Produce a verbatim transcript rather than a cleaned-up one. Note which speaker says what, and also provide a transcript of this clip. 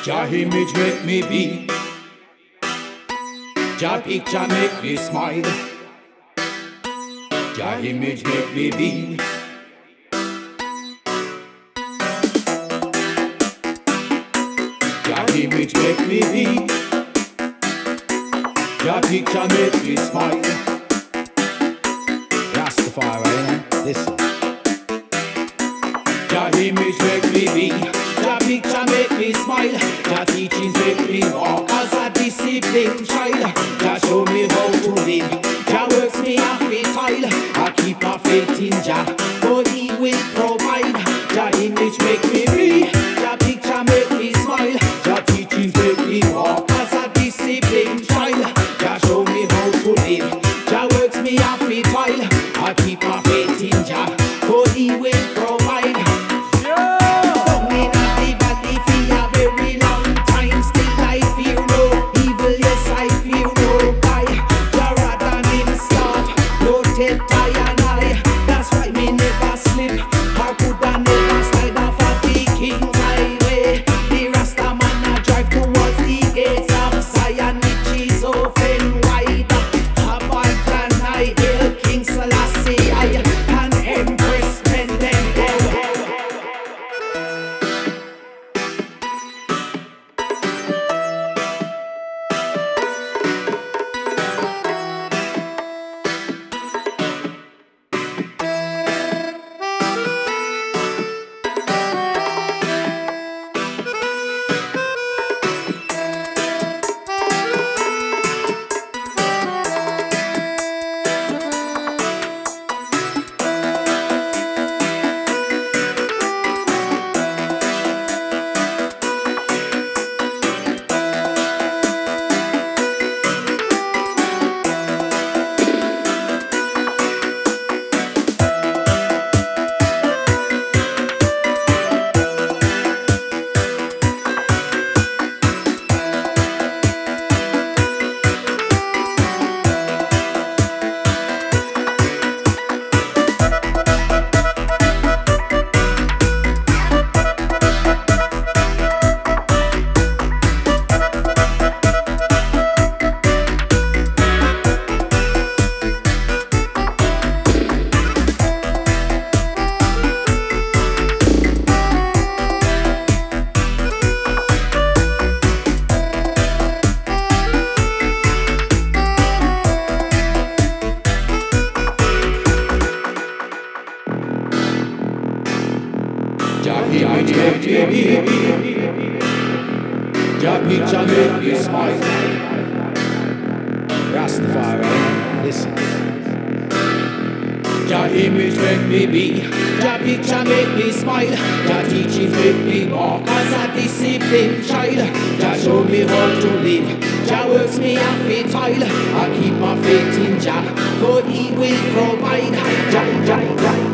Speaker 1: Jah image make me be. Jah picture make me smile. Jah image make me be. Jah image make me be. Jah picture make me smile. Rastafari, eh? Listen. Jah image make me be. Jah picture make me smile. Jah teachings make me walk as a disciplined child. Jah show me how to live. Jah works me a fit tile. I keep my faith in Jah, for He will provide. Jah image make me be. Jah picture make me smile. Jah teachings make me walk as a disciplined child. Jah show me how to live. Jah works me a fit tile. I keep my faith in Jah, for He will provide. Jah picture make me smile. Rastafari, listen. Jah image make me be. Jah picture make me smile. Jah teachings make me walk as a disciplined child. Jah show me how to live. Jah works me a fit tile. I keep my faith in Jah, for He will provide. Jah, Jah, Jah.